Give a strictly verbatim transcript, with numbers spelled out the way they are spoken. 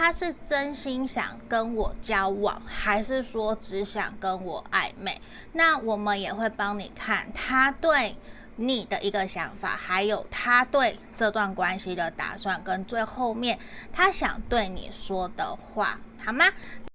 他是真心想跟我交往，還是說只想跟我曖昧？那我們也會幫你看他對你的一個想法，還有他對這段關係的打算，跟最後面他想對你說的話，好嗎？